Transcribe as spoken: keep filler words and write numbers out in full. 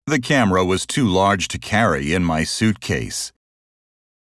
The camera was too large to carry in my suitcase.